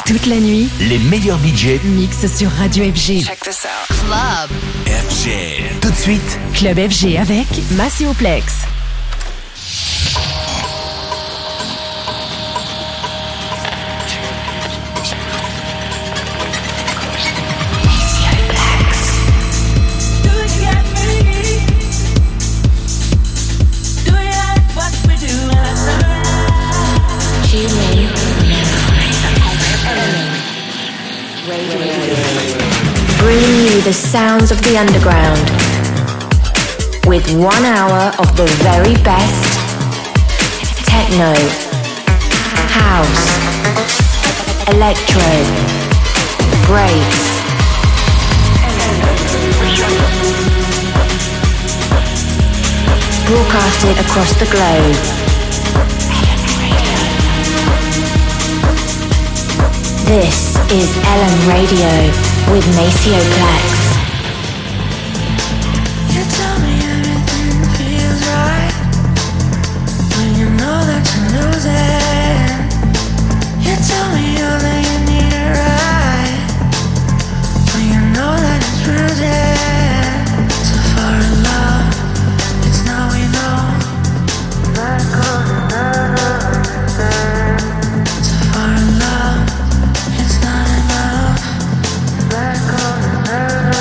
Toute la nuit, les meilleurs budgets mixent sur Radio FG. Check this out. Club FG. Tout de suite, Club FG avec Massioplex. Bringing you the sounds of the underground with 1 hour of the very best techno, house, electro, breaks, broadcasted across the globe. This is LM Radio with Maceo Plex. You tell me everything feels right when you know that you're losing. You tell me all that you need it right when you know that it's bruising. So far in love, it's now we know. Let go and never understand. So far in love, it's not enough. Let go and never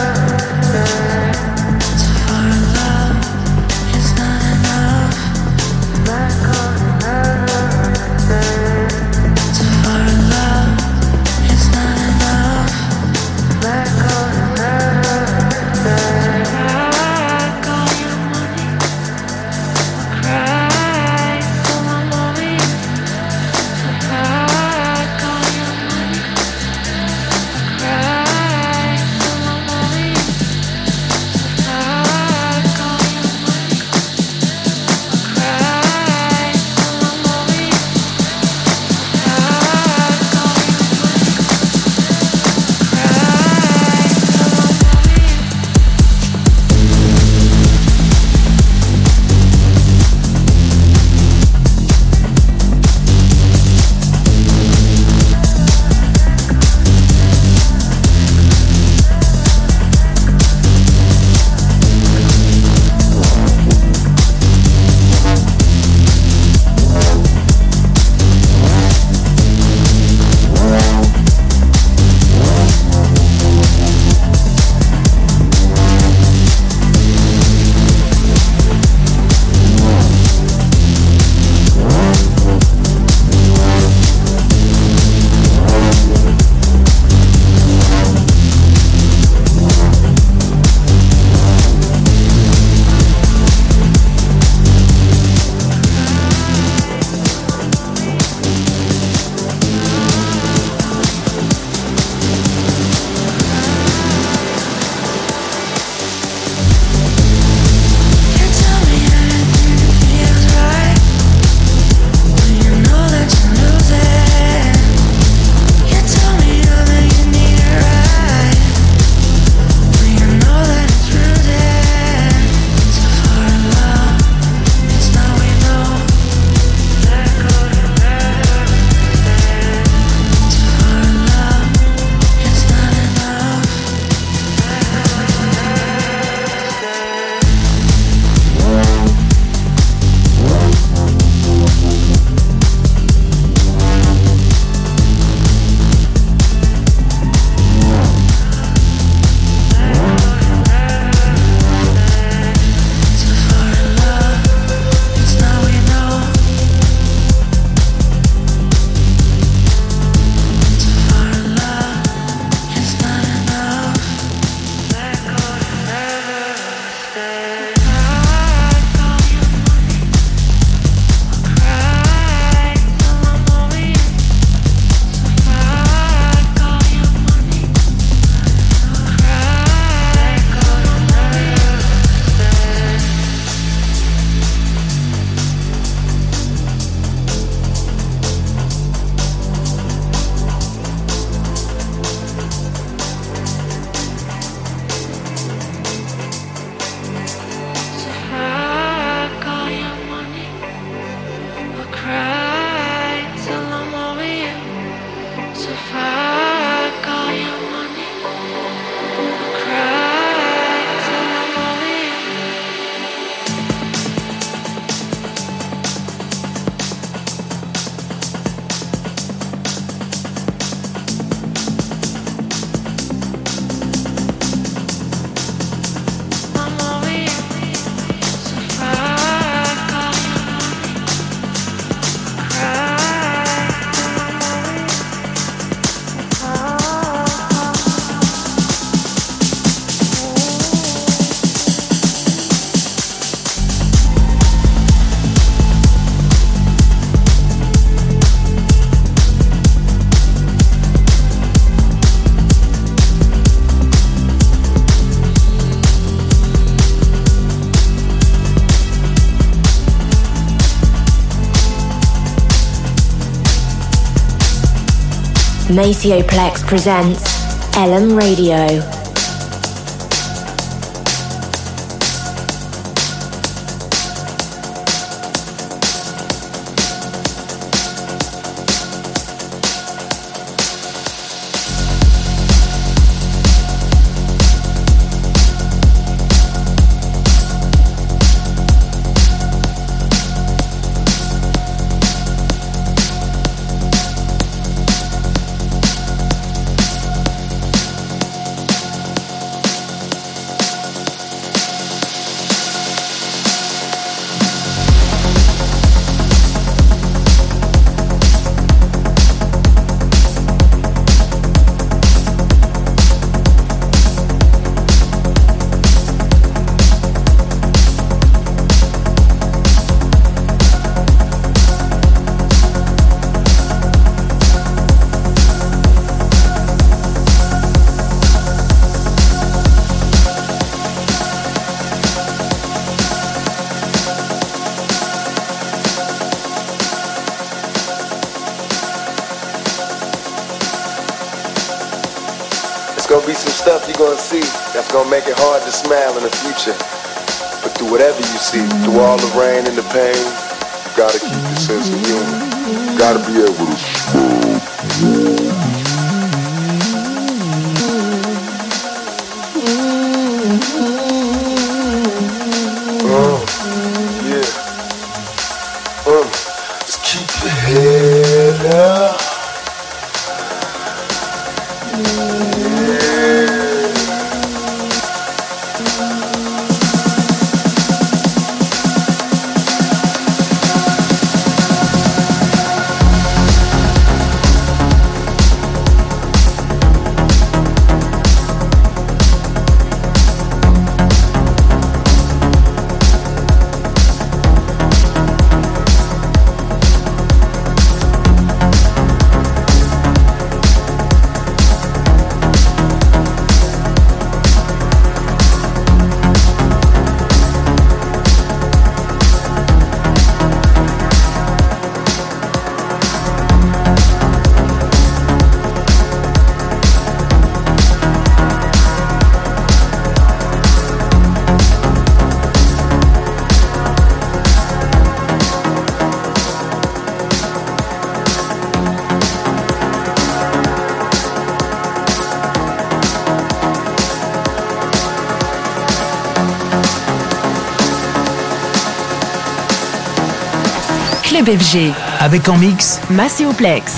Macioplex presents LM Radio. Gonna be some stuff you're gonna see that's gonna make it hard to smile in the future. But through whatever you see, through all the rain and the pain, you gotta keep your sense of humor. You gotta be able to smile. Just keep your head up. Club FG. Avec en mix Macioplex.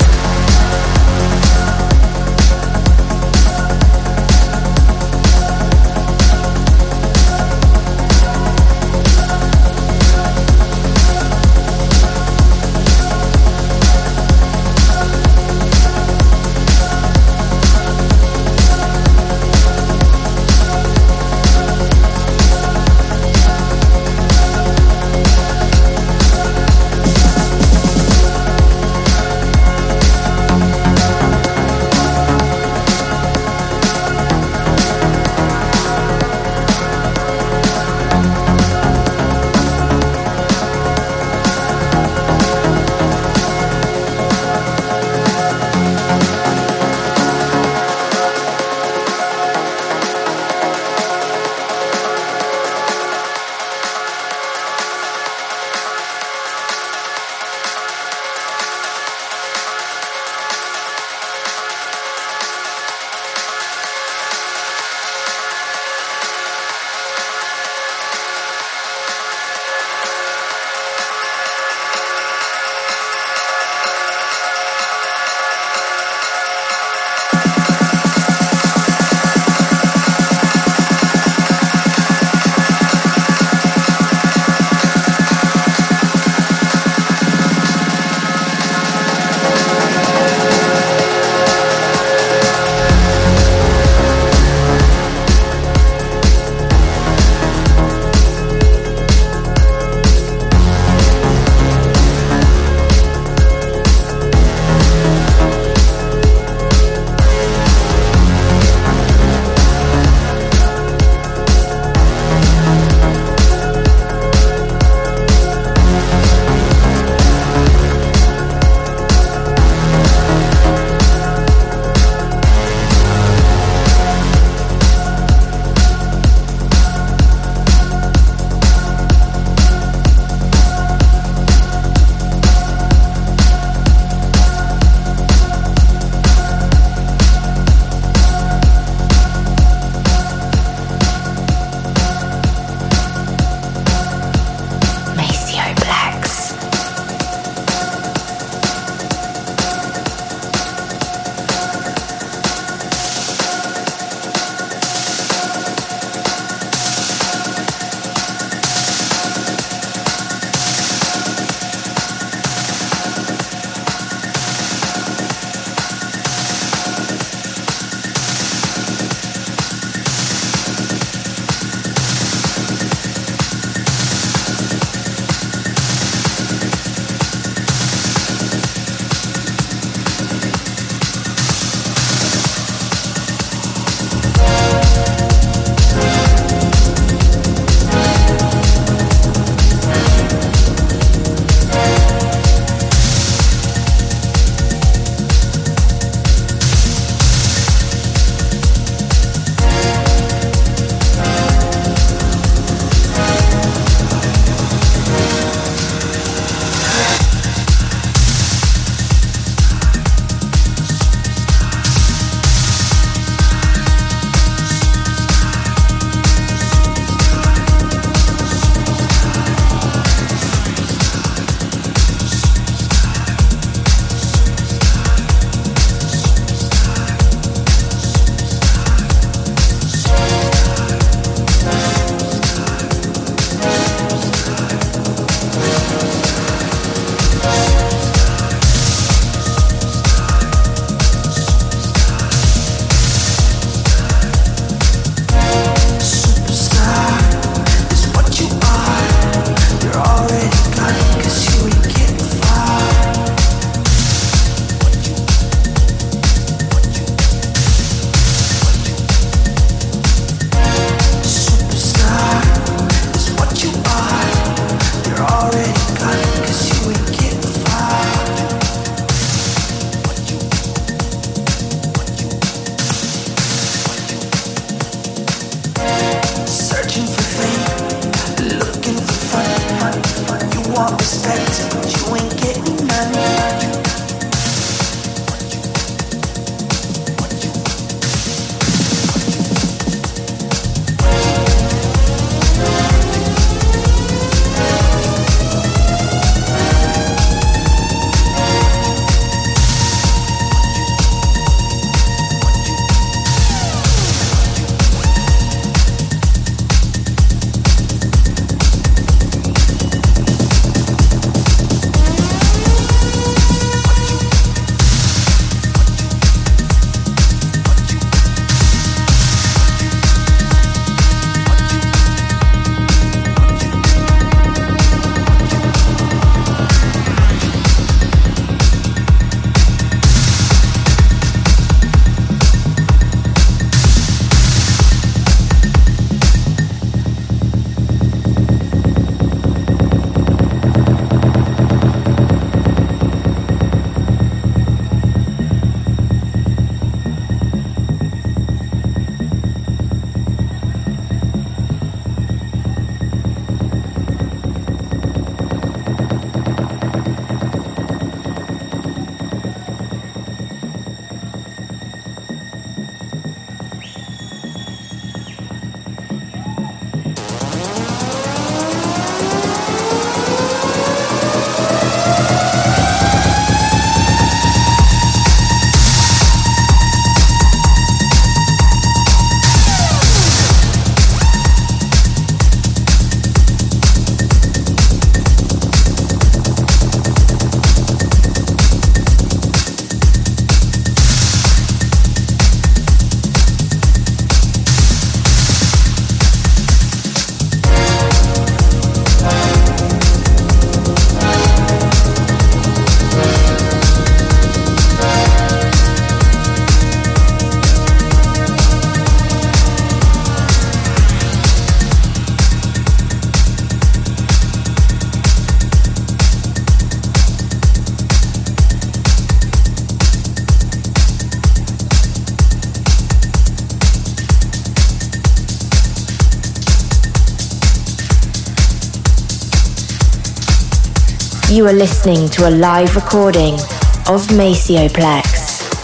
You are listening to a live recording of Maceoplex.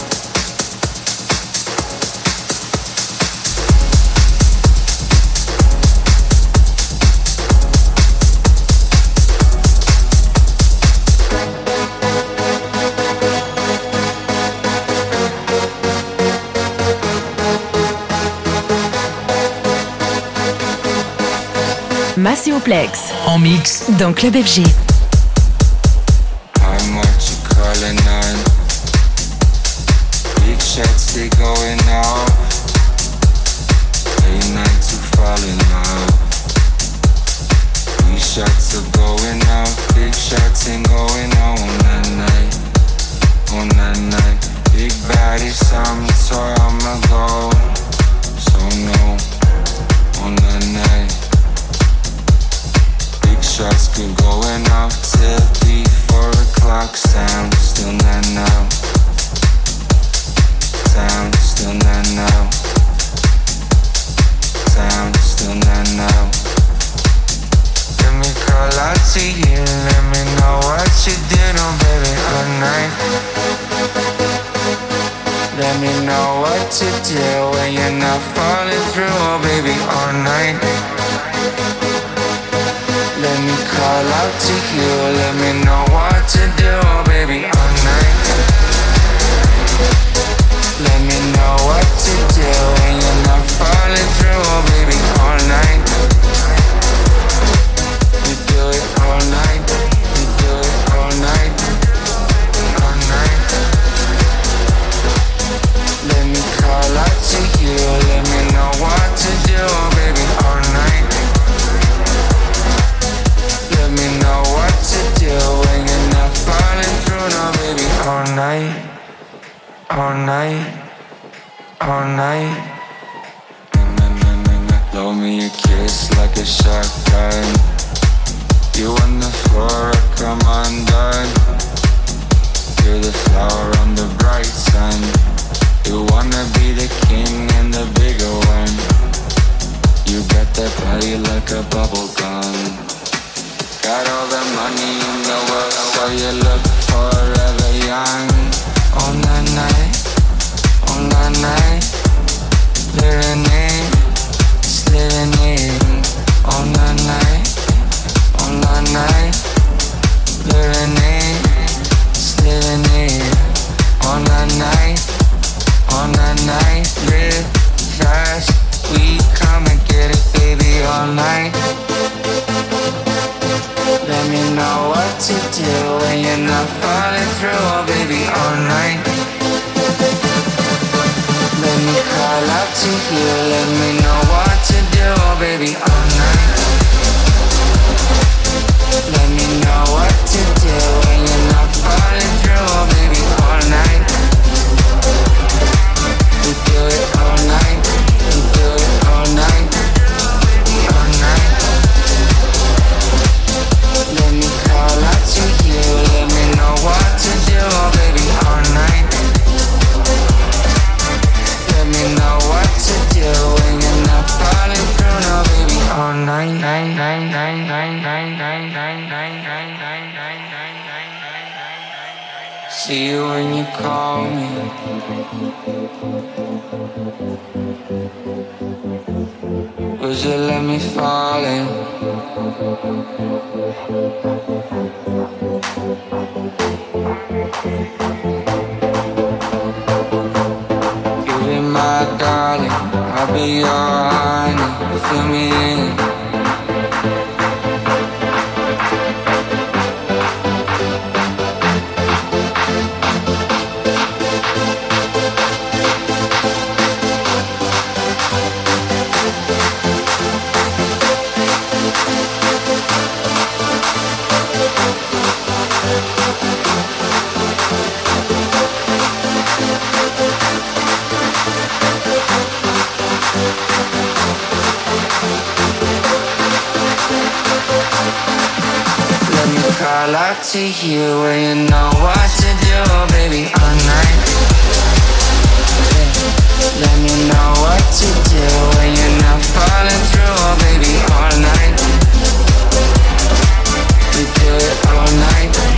Maceoplex en mix dans Club FG. I'm what you calling on. Big shots they going off. Late night to fall in love. Big shots are going off. Big shots ain't going on that night. On that night. Big body some so I'ma go. So no. On that night. Shots keep going off till 3-4 o'clock. Sound still not now. Sound still not now. Sound still not now. Let me call out to you. Let me know what you did on baby all night. Let me know what to do when you're not falling through, oh baby all night. Let me call out to you, let me know what to do, oh baby, all night. Let me know what to do when you're not falling through, oh baby, all night. We do it all night, we do it all night, all night. Let me call out to you, let me know what to do, oh baby, all night. Let me know what to do when you're not falling through, no baby, all night, all night, all night. Blow me a kiss like a shotgun. You on the floor, I come undone. You're the flower on the bright sun. You wanna be the king and the bigger one. You got that body like a bubble gum. Got all the money in the world, so you look forever young. On that night, on that night, living in, just living in. On that night, on that night, living in, just living in. On that night, live fast, we come and get it, baby, all night. Let me know what to do when you're not falling through, oh baby, all night. Let me call out to you, let me know what to do, oh baby, all night. Let me know what to do when you're not falling through, oh baby, all night. We do it all night, we do it all night, all night. Let me call out to you, let me know what to do, oh baby, all night. Let me know what to do when you're not falling through, no baby, all night. See you when you call me. Would you let me fall in? You be my darling, I'll be your honey. Fill me in. Call out to you when you know what to do, baby, all night. Let me know what to do when you're not falling through, baby, all night. We do it all night.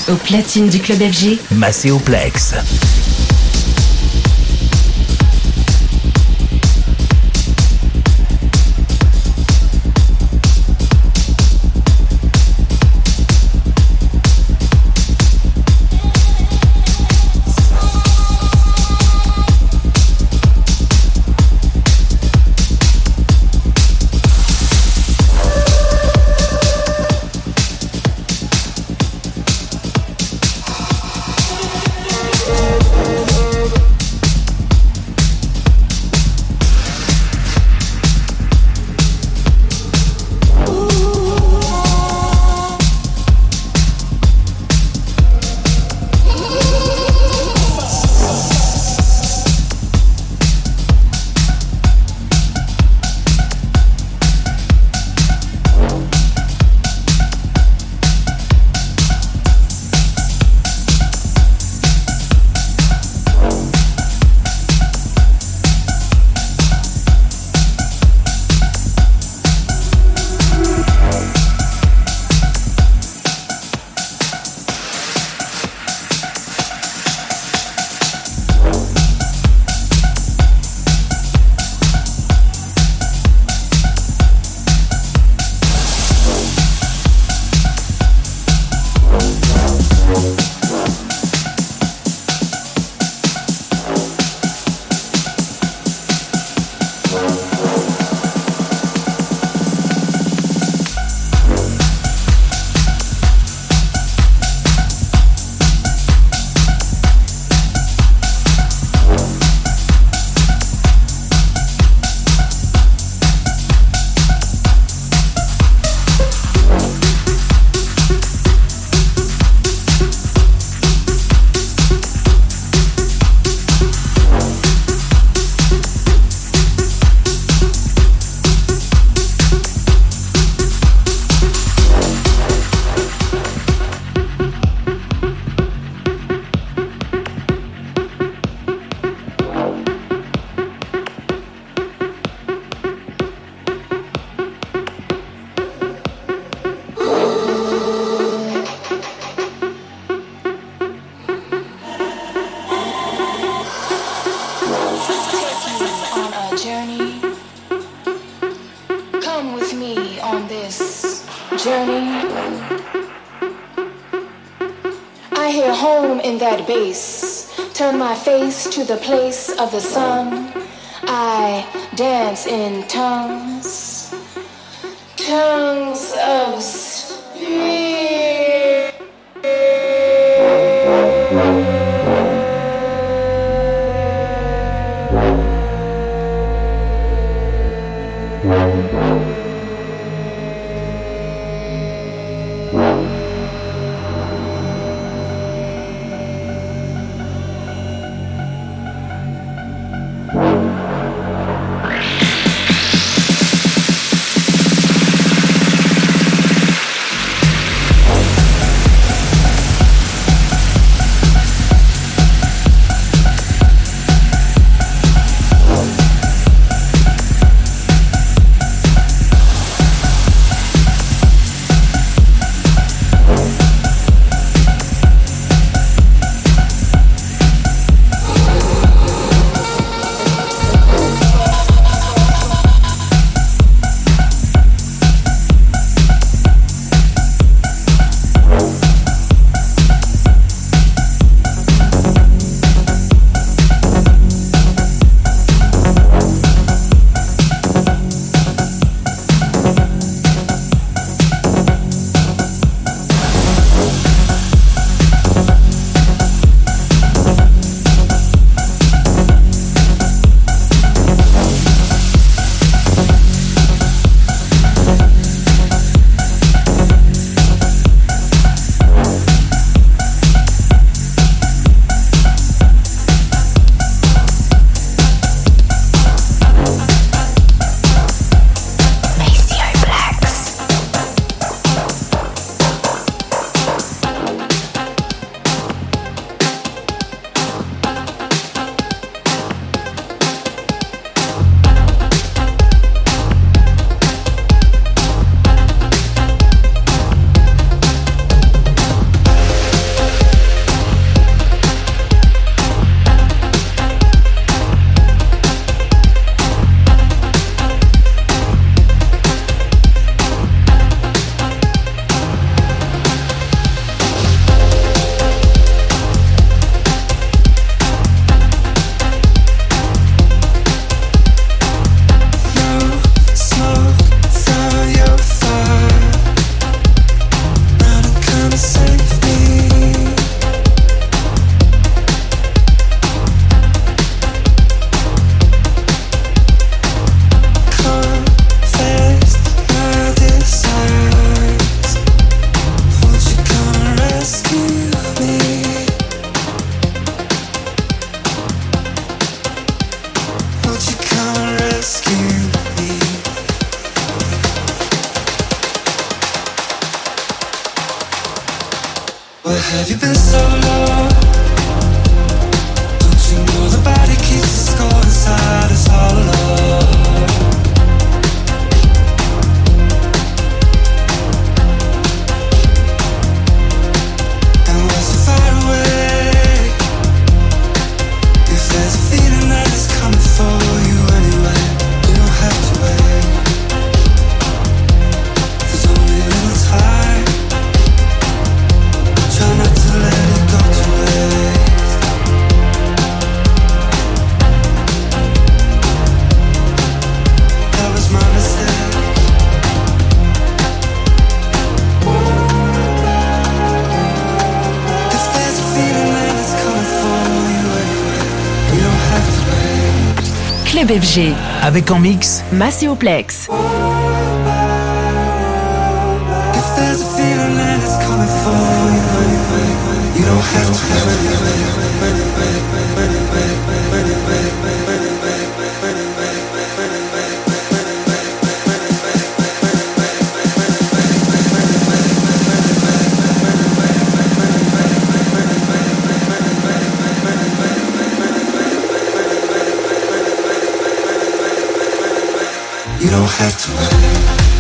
Au platine du club FG, Macéoplex. Turn my face to the place of the sun. I dance in tongues, tongues of spirit. Where have you been so long? Don't you know the body keeps the score inside us all alone? And we're so far away. If there's a feeling that is coming for you anyway, you don't have to wait. There's only a little time. Try not to let it go to waste. That was my mistake. If there's a feeling that is coming for you anyway, you don't have to wait. Club FG. Avec en mix Maceo Plex. If there's a feeling that is coming for you anyway, you don't have to wait. You don't have to wait.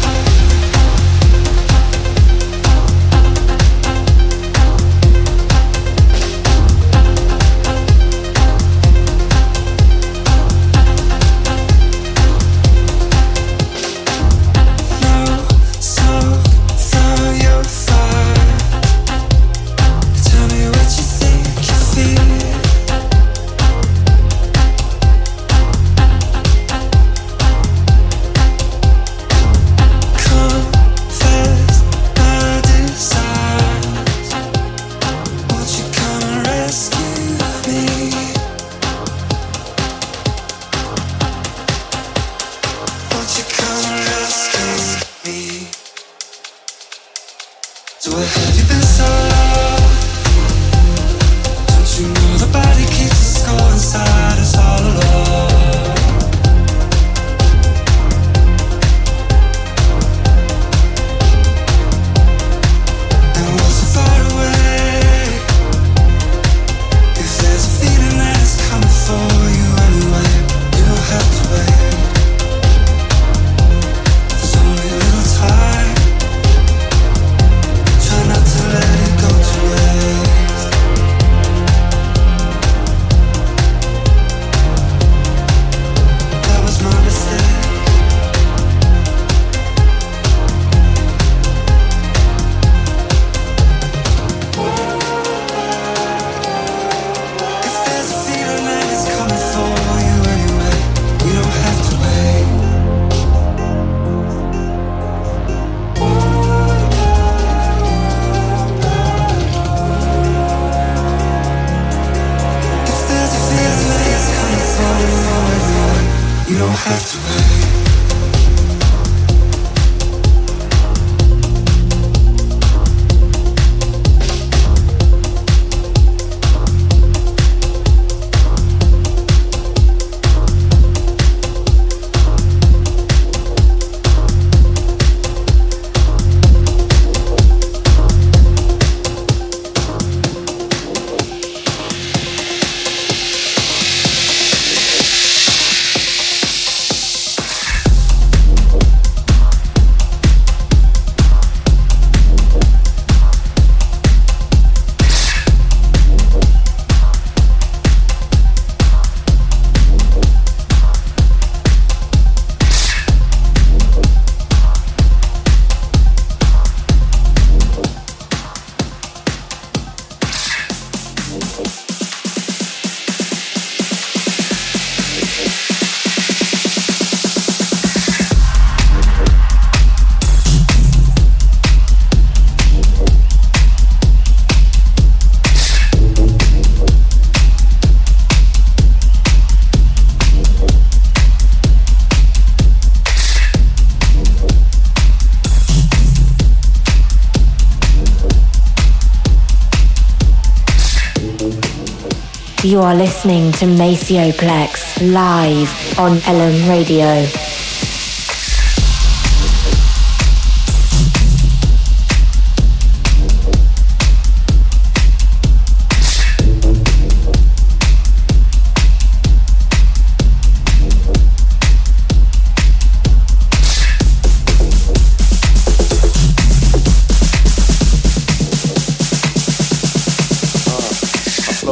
You are listening to Maceo Plex live on LM Radio.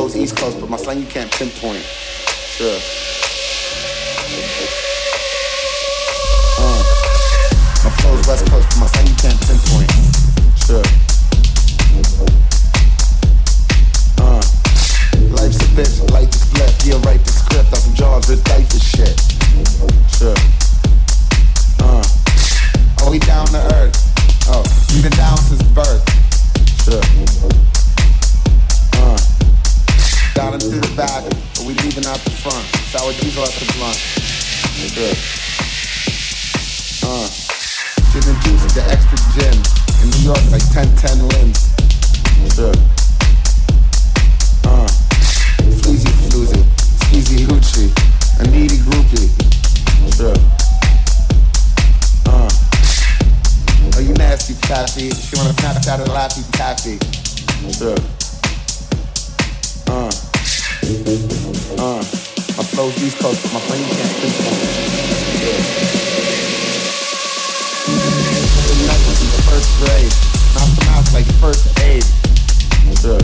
flow's East Coast, but my slang you can't pinpoint. Sure. My flow's West Coast, but my slang you can't pinpoint. Sure. Life's a bitch, life is flip. Yeah, write the script, got some jaws, rich life is shit. Sure. Are we down to earth? Oh, we've been down since birth. Sure. Down and through the back, but we leaving out the front. Sour diesel at the blunt. Sure. Gin and juice, the extra gin. In New York, like 10 limbs. Sure. Fleazy floozy, skeezy hoochie, a needy groupie. Sure. Oh, you nasty taffy. She wanna Snapchat a laffy taffy. Sure. My flow's East Coast, but my friend you can't pinpoint. Nice in the first grade, mouth to mouth like first aid. Sure.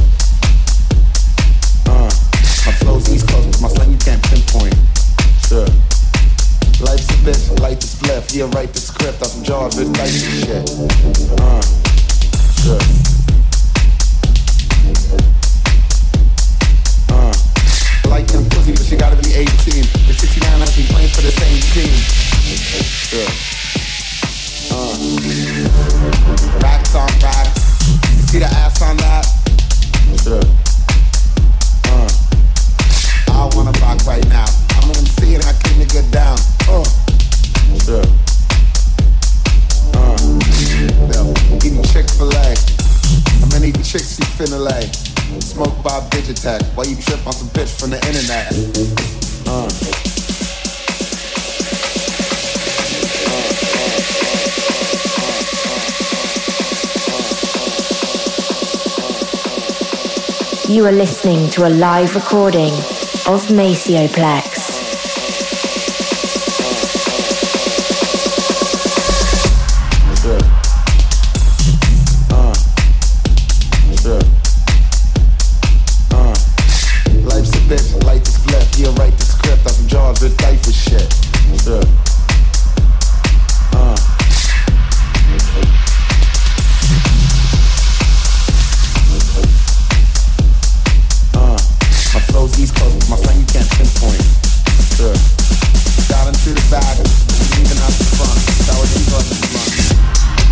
My flow's East Coast, but my slang you can't pinpoint. Sure. Life's a bitch, life is flip. Yeah, write the script, got some jaws, rich life and shit. Sure. Like them pussy, but she gotta be 18. At 69, I be playing for the same team. Sure. Racks on racks. You see the ass on that? Sure. I wanna rock right now. I'm gonna see it and I kick nigga down. Sure. Eating Chick-fil-A. I'm gonna eat chicks you finna lay. Smoke Bob Digitech while you trip on some bitch from the internet. You are listening to a live recording of Macioplex. Life's a bitch, life is flip. Yeah, write the script, got some jaws, rich life is shit. Sure. My flow's East Coast, my slang you can't pinpoint. Sure. Down and through the back, leaving out the front. Sour diesel at the front.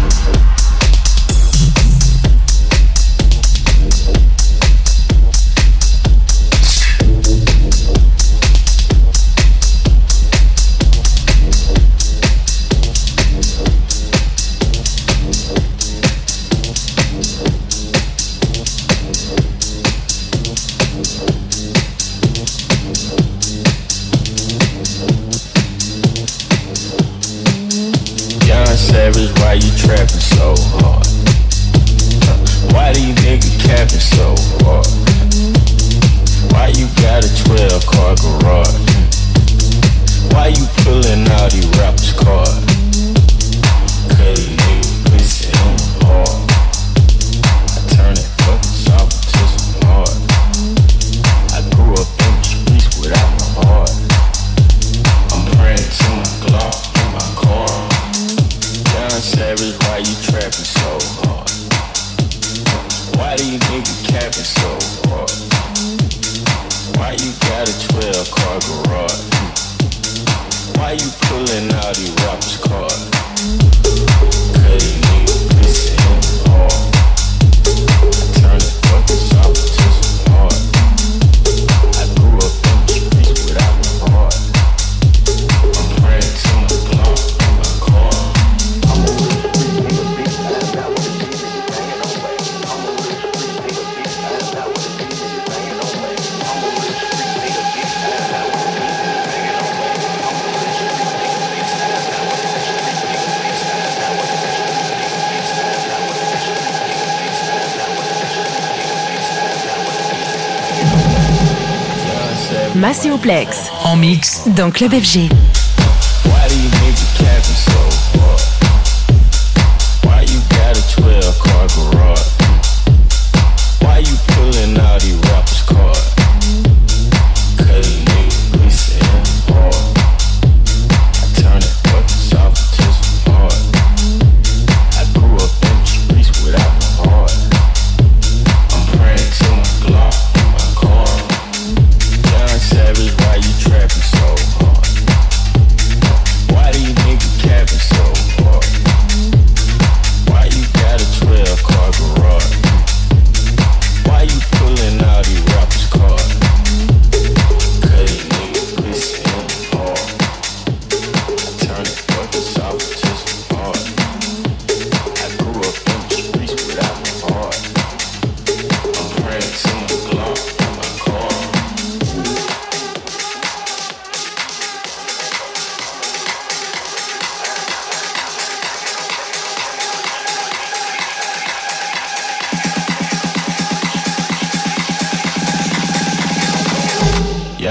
Savage, why you trapping so hard? Why do you niggas capping so hard? Why you got a 12-car garage? Why you pulling out these rappers' cars? Cause these niggas pussy on hard. I turn that fucking soft to some hard. I grew up in the streets without my heart. I'm praying to my Glock in my car. Savage, why you trapping so hard? Why do you niggas capping so hard? Why you got a 12-car garage? Why you pulling out these rappers' cars? Cause these niggas pussy on hard. I turn the fucking soft to some hard. I grew up in the streets without my heart. I'm praying to my Glock in my car. Macioplex en mix dans Club FG. Why do you niggas capping so hard? Why you got a 12-car garage? Why you pulling out these rappers' cars?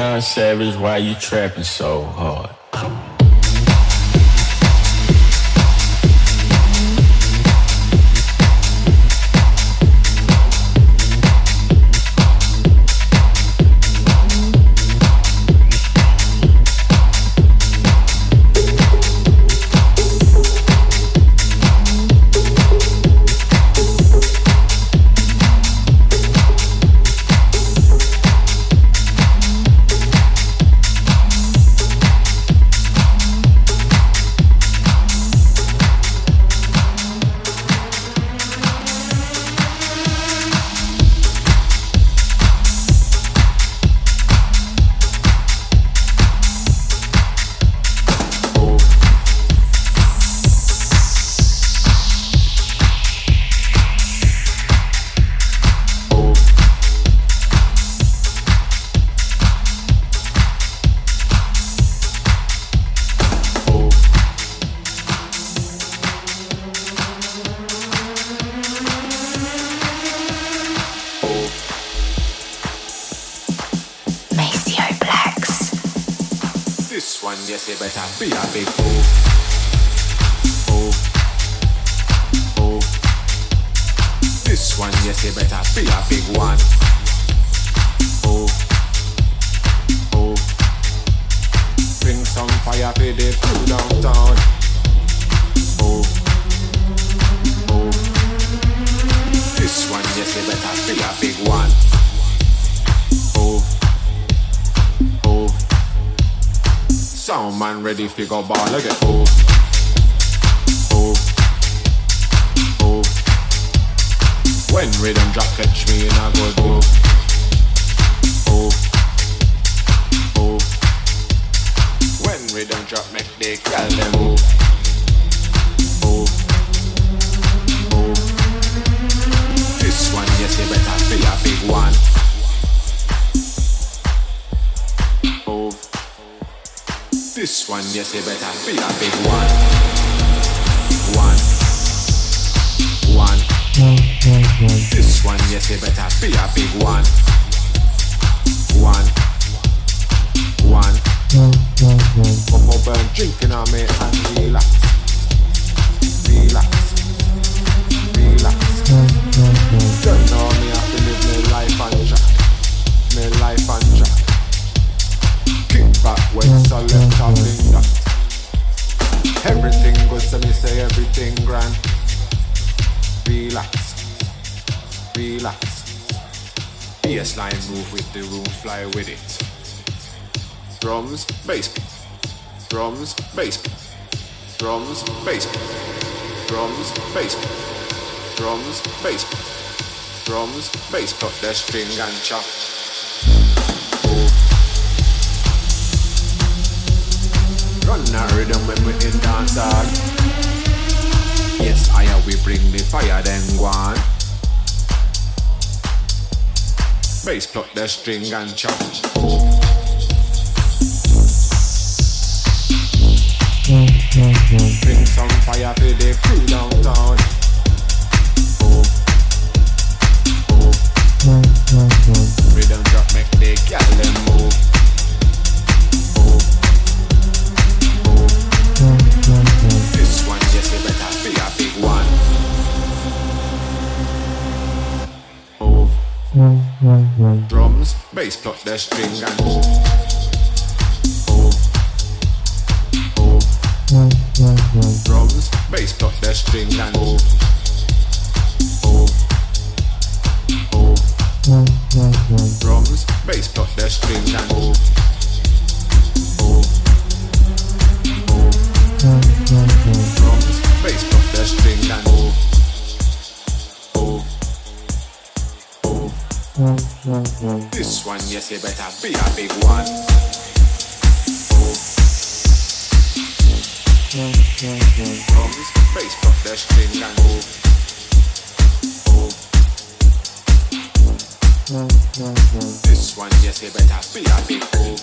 Deion Savage, why you trapping so hard? Yes, you better be a big fool. Oh, oh. This one, yes, you better be a big one. Oh, oh. Bring some fire for the crew downtown. Oh, oh. This one, yes, you better be a big one. Oh, oh. Sound man ready fi go ball again. Oh, oh, oh. When rhythm drop catch me in a good groove. Oh, oh. When rhythm drop make the girl them move. Oh, oh. This one yes you better be a big one. Oh. This one, yes, you better be a big one. One. This one, yes, you better be a big one. One. Come up and drinking on me and relax. Don't know me have to live my life on track. Kick back when so left off in that. Everything good, so me say everything grand. Relax. Bassline move with the room, fly with it. Drums, bass. Drums, bass. Drums, bass. Drums, bass. Drums, bass. Drums, bass. Cut the string and chop. Run a rhythm when we in dance hall. Yes, we bring the fire then go on. Bass pluck the string and chop. Bring some fire for the crew downtown. Oh. Rhythm drop make the girl them move. This one, yes, you better be a big one. Move. Drums, bass, pluck the string and move. Drums, bass, pluck the string and move. Drums, bass, pluck the string and move. Drums, bass, pluck the string and move. This one, yes, you better be a big one. Drums, bass, pluck the string and move. This one, yes, you better be a big move.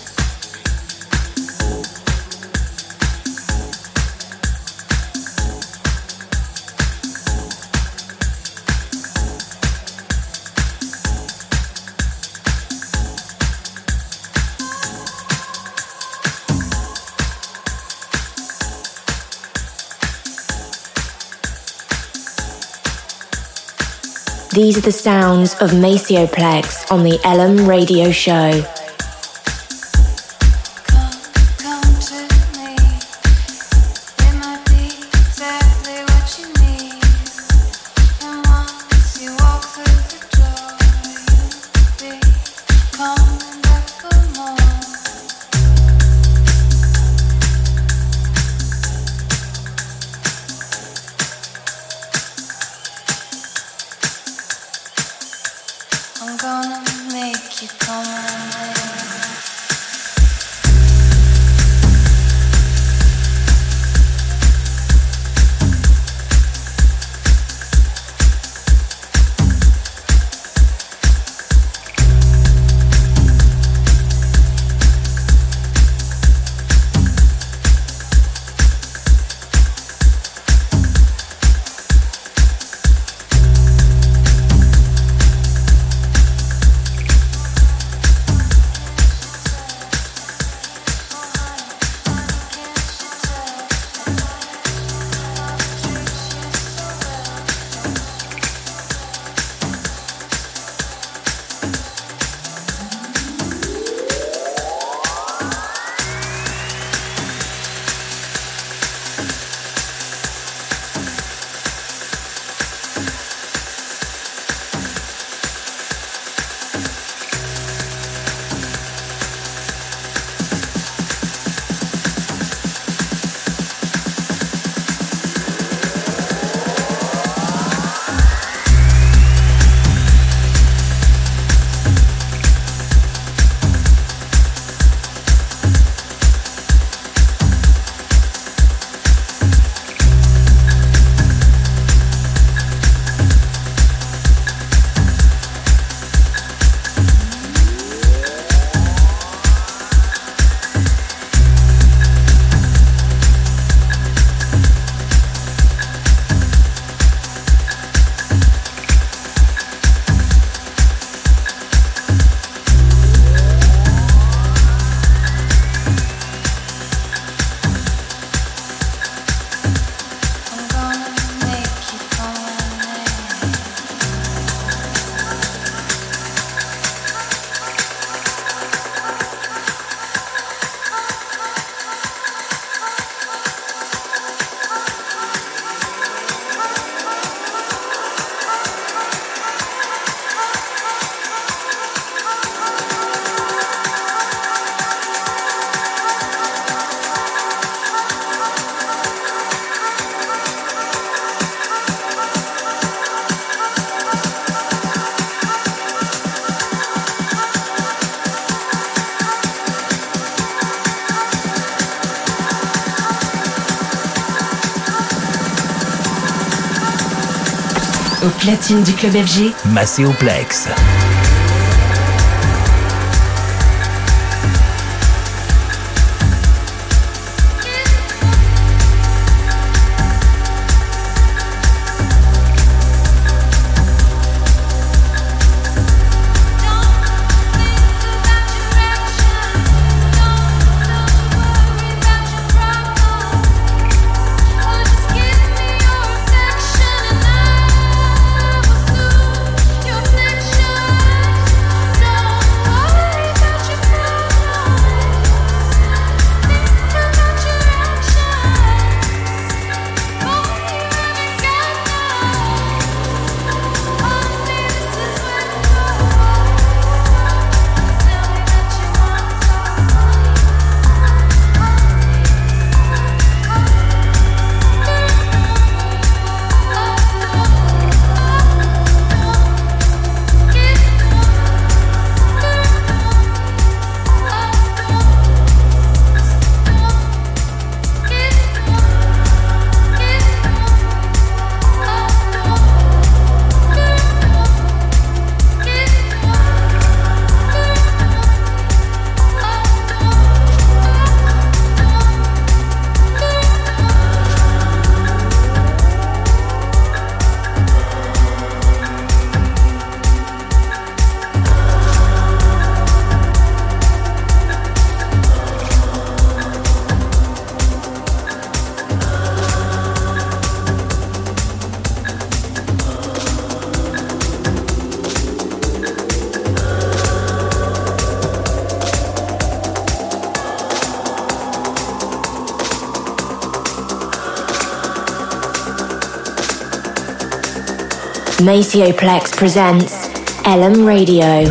These are the sounds of Macioplex on the Elm Radio Show. Au platine du club FG, Maceoplex. Your reflection Macioplex presents Elm Radio.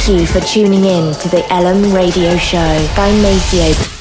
Thank you for tuning in to the Elam Radio Show by Maceo.